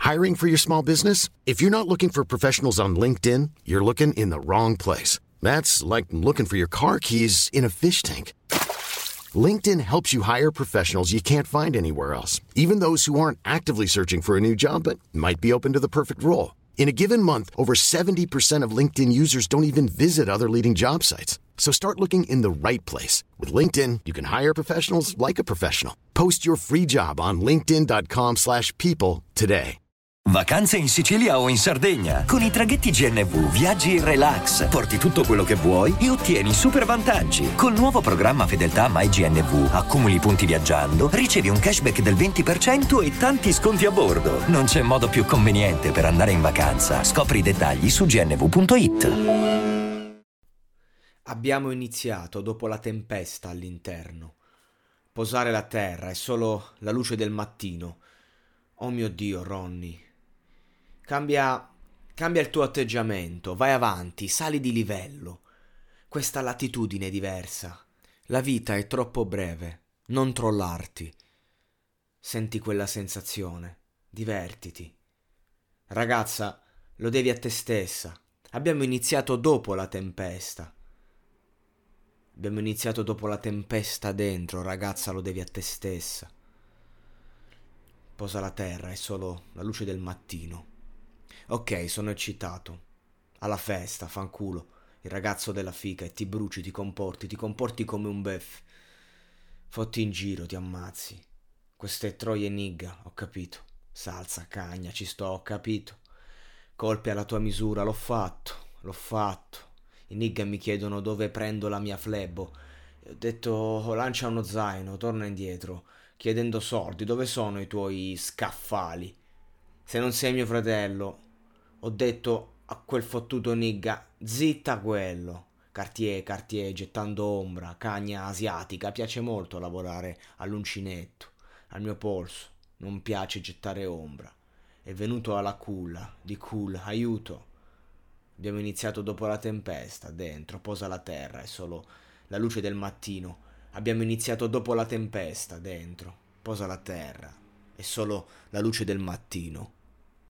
Hiring for your small business? If you're not looking for professionals on LinkedIn, you're looking in the wrong place. That's like looking for your car keys in a fish tank. LinkedIn helps you hire professionals you can't find anywhere else, even those who aren't actively searching for a new job but might be open to the perfect role. In a given month, over 70% of LinkedIn users don't even visit other leading job sites. So start looking in the right place. With LinkedIn, you can hire professionals like a professional. Post your free job on linkedin.com/people today. Vacanze in Sicilia o in Sardegna. Con i traghetti GNV viaggi in relax, porti tutto quello che vuoi e ottieni super vantaggi. Col nuovo programma Fedeltà MyGNV accumuli punti viaggiando, ricevi un cashback del 20% e tanti sconti a bordo. Non c'è modo più conveniente per andare in vacanza. Scopri i dettagli su gnv.it. Abbiamo iniziato dopo la tempesta all'interno. Posare la terra è solo la luce del mattino. Oh mio Dio, Ronny. Cambia il tuo atteggiamento, vai avanti, sali di livello. Questa latitudine è diversa. La vita è troppo breve, non trollarti. Senti quella sensazione, divertiti. Ragazza, lo devi a te stessa. Abbiamo iniziato dopo la tempesta. Abbiamo iniziato dopo la tempesta dentro, ragazza, lo devi a te stessa. Posa la terra, è solo la luce del mattino. Ok, sono eccitato. Alla festa, fanculo. Il ragazzo della fica e ti bruci, ti comporti come un bef. Fotti in giro, ti ammazzi. Queste troie nigga, ho capito. Salsa, cagna, ci sto, ho capito. Colpi alla tua misura, l'ho fatto. I nigga mi chiedono dove prendo la mia flebo. Ho detto, lancia uno zaino, torna indietro. Chiedendo soldi, dove sono i tuoi scaffali? Se non sei mio fratello, ho detto a quel fottuto nigga, zitta quello. Cartier, gettando ombra, cagna asiatica, piace molto lavorare all'uncinetto, al mio polso, non piace gettare ombra. È venuto alla culla, di cool, aiuto. Abbiamo iniziato dopo la tempesta, dentro, posa la terra, è solo la luce del mattino. Abbiamo iniziato dopo la tempesta, dentro, posa la terra, è solo la luce del mattino.